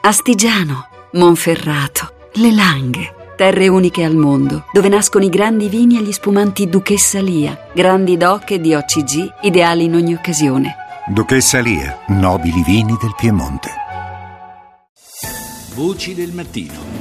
Astigiano, Monferrato, Le Langhe, terre uniche al mondo, dove nascono i grandi vini e gli spumanti Duchessa Lia, grandi DOC e DOCG, ideali in ogni occasione. Duchessa Lia, nobili vini del Piemonte. Voci del mattino.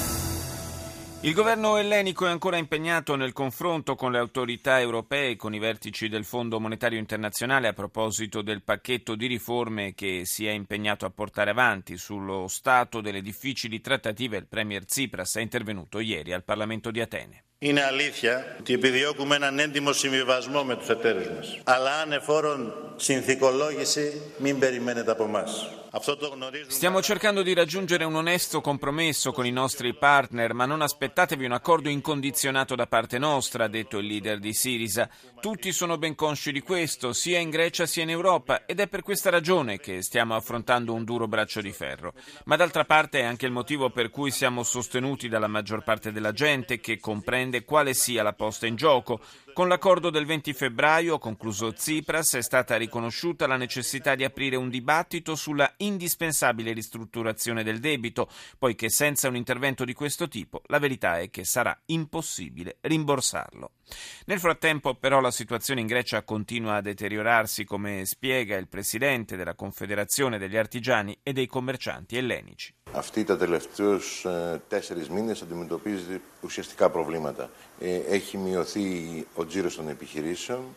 Il governo ellenico è ancora impegnato nel confronto con le autorità europee e con i vertici del Fondo Monetario Internazionale a proposito del pacchetto di riforme che si è impegnato a portare avanti. Sullo stato delle difficili trattative il premier Tsipras è intervenuto ieri al Parlamento di Atene. Είναι αλήθεια ότι επιδιώκουμε έναν έντιμο συμβιβασμό με τους εταίρους μας. Αλλά ανεφόρον συνθηκολόγηση μην περιμένετε από εμάς. Stiamo cercando di raggiungere un onesto compromesso con i nostri partner, ma non aspettatevi un accordo incondizionato da parte nostra, ha detto il leader di Syriza. Tutti sono ben consci di questo, sia in Grecia sia in Europa, ed è per questa ragione che stiamo affrontando un duro braccio di ferro. Ma d'altra parte è anche il motivo per cui siamo sostenuti dalla maggior parte della gente, che comprende quale sia la posta in gioco. Con l'accordo del 20 febbraio, ha concluso Tsipras, è stata riconosciuta la necessità di aprire un dibattito sulla indispensabile ristrutturazione del debito, poiché senza un intervento di questo tipo la verità è che sarà impossibile rimborsarlo. Nel frattempo però la situazione in Grecia continua a deteriorarsi, come spiega il presidente della Confederazione degli Artigiani e dei Commercianti Ellenici. Αυτή τα τελευταίους 4 μήνες αντιμετωπίζει ουσιαστικά προβλήματα. Έχει μειωθεί ο τζίρος των επιχειρήσεων.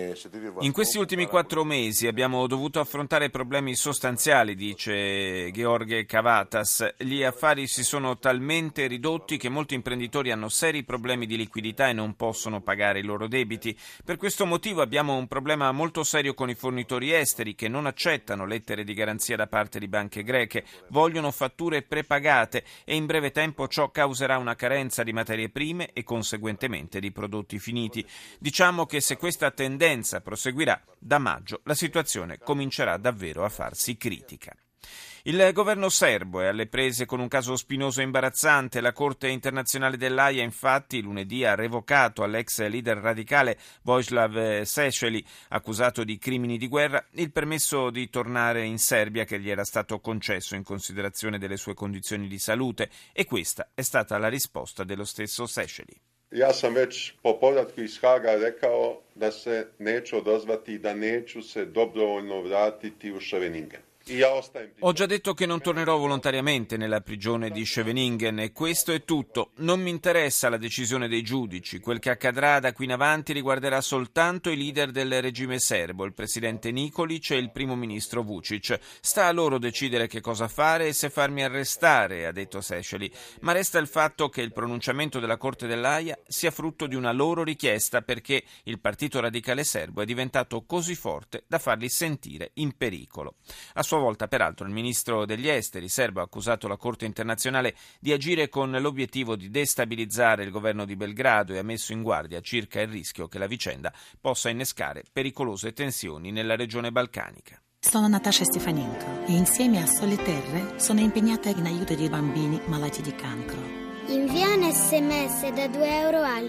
In questi ultimi 4 mesi abbiamo dovuto affrontare problemi sostanziali, dice George Kavatas. Gli affari si sono talmente ridotti che molti imprenditori hanno seri problemi di liquidità e non possono pagare i loro debiti. Per questo motivo abbiamo un problema molto serio con i fornitori esteri che non accettano lettere di garanzia da parte di banche greche, vogliono fatture prepagate e in breve tempo ciò causerà una carenza di materie prime e conseguentemente di prodotti finiti. Diciamo che se questa tendenza proseguirà, da maggio la situazione comincerà davvero a farsi critica. Il governo serbo è alle prese con un caso spinoso e imbarazzante. La Corte internazionale dell'Aia infatti lunedì ha revocato all'ex leader radicale Vojislav Šešelj, accusato di crimini di guerra, il permesso di tornare in Serbia che gli era stato concesso in considerazione delle sue condizioni di salute, e questa è stata la risposta dello stesso Šešelj. Ja sam već po povratku iz Haga rekao da se neću odazvati, da neću se dobrovoljno vratiti u Scheveningen. Ho già detto che non tornerò volontariamente nella prigione di Scheveningen e questo è tutto. Non mi interessa la decisione dei giudici. Quel che accadrà da qui in avanti riguarderà soltanto i leader del regime serbo, il presidente Nikolic e il primo ministro Vučić. Sta a loro decidere che cosa fare e se farmi arrestare, ha detto Šešelj. Ma resta il fatto che il pronunciamento della Corte dell'Aia sia frutto di una loro richiesta, perché il partito radicale serbo è diventato così forte da farli sentire in pericolo. A sua volta, peraltro, il ministro degli esteri serbo ha accusato la Corte internazionale di agire con l'obiettivo di destabilizzare il governo di Belgrado e ha messo in guardia circa il rischio che la vicenda possa innescare pericolose tensioni nella regione balcanica. Sono Natasha Stefanenko e insieme a Sole Terre sono impegnata in aiuto dei bambini malati di cancro. Invia un sms da €2 al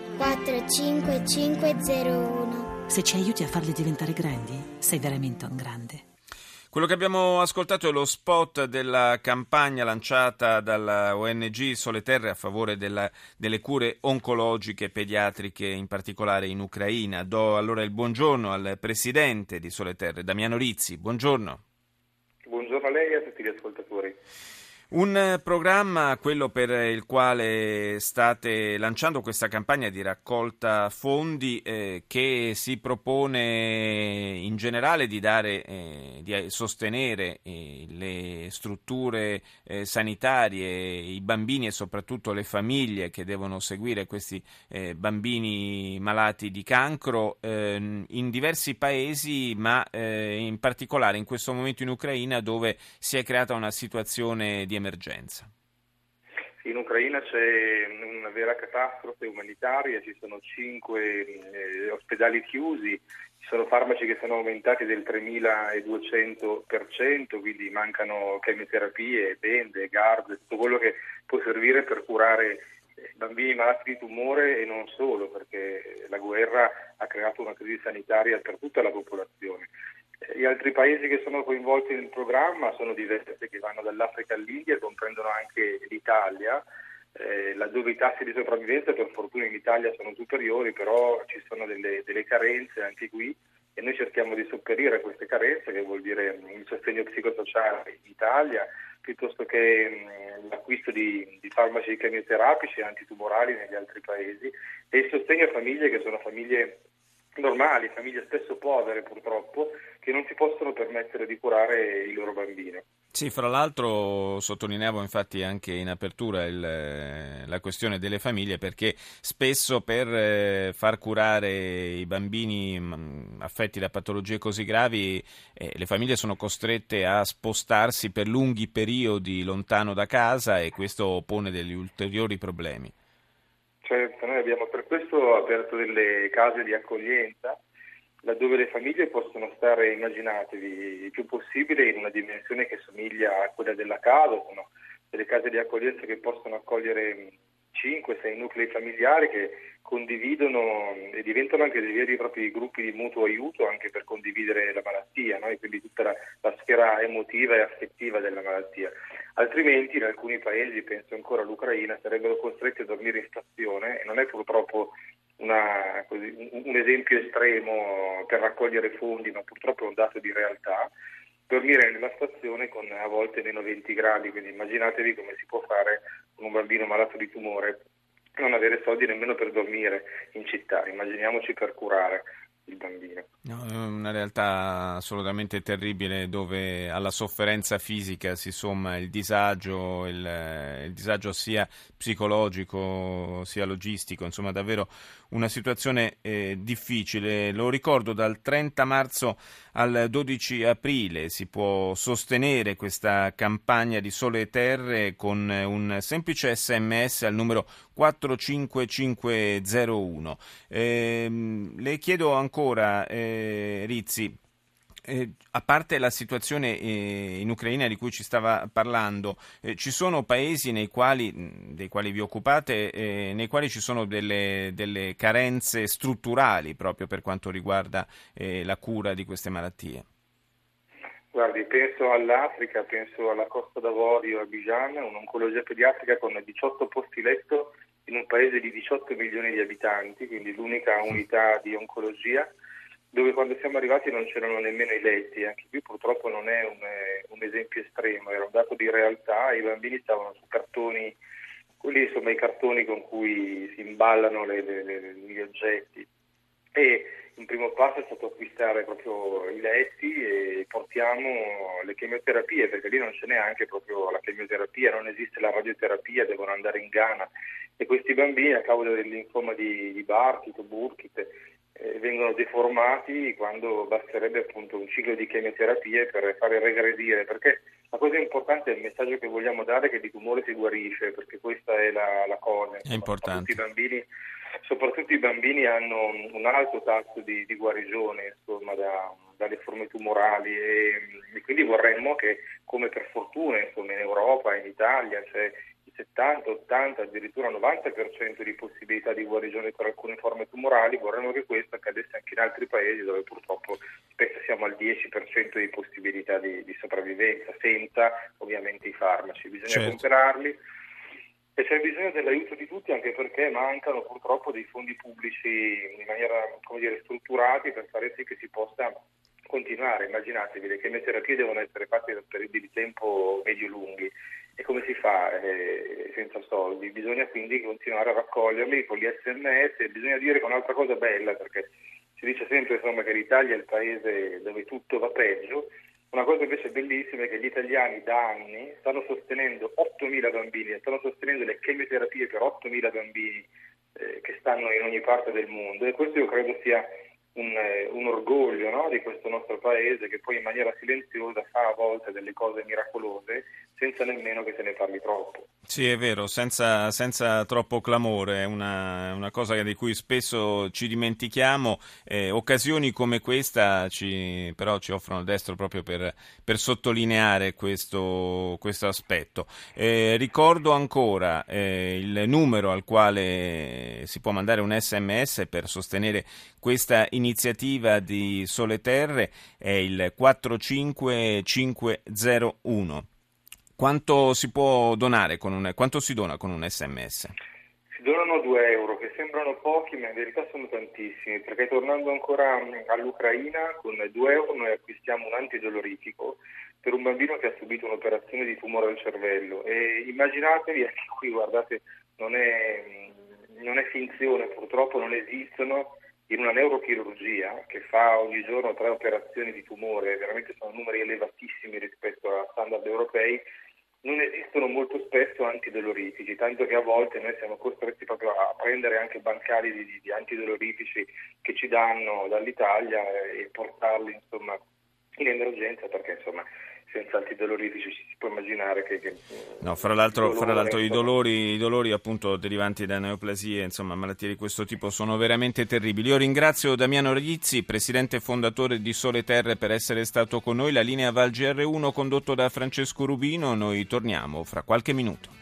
45501. Se ci aiuti a farli diventare grandi, sei veramente un grande. Quello che abbiamo ascoltato è lo spot della campagna lanciata dalla ONG Sole Terre a favore delle cure oncologiche pediatriche, in particolare in Ucraina. Do allora il buongiorno al presidente di Sole Terre, Damiano Rizzi. Buongiorno. Buongiorno a lei e a tutti gli ascoltatori. Un programma, quello per il quale state lanciando questa campagna di raccolta fondi che si propone in generale di di sostenere le strutture sanitarie, i bambini e soprattutto le famiglie che devono seguire questi bambini malati di cancro in diversi paesi, ma in particolare in questo momento in Ucraina, dove si è creata una situazione di emergenza. In Ucraina c'è una vera catastrofe umanitaria, ci sono 5 ospedali chiusi, ci sono farmaci che sono aumentati del 3200%, quindi mancano chemioterapie, bende, GARD, tutto quello che può servire per curare bambini malati di tumore e non solo, perché la guerra ha creato una crisi sanitaria per tutta la popolazione. Gli altri paesi che sono coinvolti nel programma sono diversi, che vanno dall'Africa all'India, comprendono anche l'Italia, laddove i tassi di sopravvivenza per fortuna in Italia sono superiori, però ci sono delle carenze anche qui e noi cerchiamo di sopperire a queste carenze, che vuol dire il sostegno psicosociale in Italia, piuttosto che l'acquisto di farmaci chemioterapici e antitumorali negli altri paesi, e il sostegno a famiglie che sono famiglie normali, famiglie spesso povere purtroppo, che non si possono permettere di curare i loro bambini. Sì, fra l'altro sottolineavo infatti anche in apertura la questione delle famiglie, perché spesso per far curare i bambini affetti da patologie così gravi le famiglie sono costrette a spostarsi per lunghi periodi lontano da casa e questo pone degli ulteriori problemi. Certo, noi abbiamo per questo aperto delle case di accoglienza laddove le famiglie possono stare, immaginatevi, il più possibile in una dimensione che somiglia a quella della casa. Sono delle case di accoglienza che possono accogliere 5-6 nuclei familiari che condividono e diventano anche dei veri e propri gruppi di mutuo aiuto anche per condividere la malattia, no? E quindi tutta la sfera emotiva e affettiva della malattia. Altrimenti in alcuni paesi, penso ancora all'Ucraina, sarebbero costretti a dormire in stazione, e non è purtroppo un esempio estremo per raccogliere fondi, ma purtroppo è un dato di realtà. Dormire nella stazione con a volte meno 20 gradi, quindi immaginatevi come si può fare con un bambino malato di tumore, non avere soldi nemmeno per dormire in città, immaginiamoci per curare il bambino. No, è una realtà assolutamente terribile, dove alla sofferenza fisica si somma il disagio sia psicologico sia logistico, insomma davvero una situazione difficile. Lo ricordo, dal 30 marzo al 12 aprile si può sostenere questa campagna di Sole Terre con un semplice SMS al numero 45501. Le chiedo ancora, Rizzi, a parte la situazione in Ucraina di cui ci stava parlando, ci sono paesi dei quali vi occupate, nei quali ci sono delle carenze strutturali proprio per quanto riguarda la cura di queste malattie? Guardi, penso all'Africa, penso alla Costa d'Avorio, a Abidjan, un'oncologia pediatrica con 18 posti letto in un paese di 18 milioni di abitanti, quindi l'unica unità di oncologia, dove quando siamo arrivati non c'erano nemmeno i letti. Anche qui purtroppo non è un esempio estremo, era un dato di realtà. I bambini stavano su cartoni, quelli insomma i cartoni con cui si imballano gli oggetti, e un primo passo è stato acquistare proprio i letti e portiamo le chemioterapie, perché lì non ce n'è anche proprio la chemioterapia, non esiste la radioterapia, devono andare in Ghana, e questi bambini a causa del linfoma di Burkitt o Burkitt vengono deformati quando basterebbe appunto un ciclo di chemioterapie per fare regredire, perché la cosa importante è il messaggio che vogliamo dare, che di tumore si guarisce, perché questa è la cosa. È importante. Soprattutto i bambini hanno un alto tasso di guarigione, insomma, dalle forme tumorali, e quindi vorremmo che, come per fortuna insomma in Europa e in Italia c'è il 70, 80, addirittura 90% di possibilità di guarigione per alcune forme tumorali, vorremmo che questo accadesse anche in altri paesi dove purtroppo spesso siamo al 10% di possibilità di sopravvivenza, senza ovviamente i farmaci. Bisogna comprarli. E c'è bisogno dell'aiuto di tutti, anche perché mancano purtroppo dei fondi pubblici in maniera, strutturati per fare sì che si possa continuare. Immaginatevi, le chemioterapie devono essere fatte per periodi di tempo medio-lunghi, e come si fa senza soldi? Bisogna quindi continuare a raccoglierli con gli SMS, e bisogna dire che un'altra cosa bella, perché si dice sempre insomma che l'Italia è il paese dove tutto va peggio. Una cosa invece bellissima è che gli italiani da anni stanno sostenendo 8.000 bambini, stanno sostenendo le chemioterapie per 8.000 bambini che stanno in ogni parte del mondo, e questo io credo sia un orgoglio, no, di questo nostro paese, che poi in maniera silenziosa fa a volte delle cose miracolose senza nemmeno che se ne parli troppo. Sì, è vero, senza troppo clamore, è una cosa di cui spesso ci dimentichiamo. Occasioni come questa però ci offrono il destro proprio per sottolineare questo aspetto. Ricordo ancora il numero al quale si può mandare un SMS per sostenere questa iniziativa di Sole Terre, è il 45501. Quanto si può donare quanto si dona con un SMS? Si donano 2 euro, che sembrano pochi, ma in verità sono tantissimi, perché tornando ancora all'Ucraina, con 2 euro noi acquistiamo un antidolorifico per un bambino che ha subito un'operazione di tumore al cervello. E immaginatevi, anche qui, guardate, non è finzione, purtroppo non esistono, in una neurochirurgia che fa ogni giorno 3 operazioni di tumore, veramente sono numeri elevatissimi rispetto a standard europei, non esistono molto spesso antidolorifici, tanto che a volte noi siamo costretti proprio a prendere anche bancali di antidolorifici che ci danno dall'Italia e portarli insomma in emergenza, perché insomma senza antidolorifici si può immaginare che no, fra l'altro i dolori appunto derivanti da neoplasie, insomma malattie di questo tipo sono veramente terribili. Io ringrazio Damiano Rizzi, presidente e fondatore di Sole Terre, per essere stato con noi. La linea va al GR1 condotto da Francesco Rubino, noi torniamo fra qualche minuto.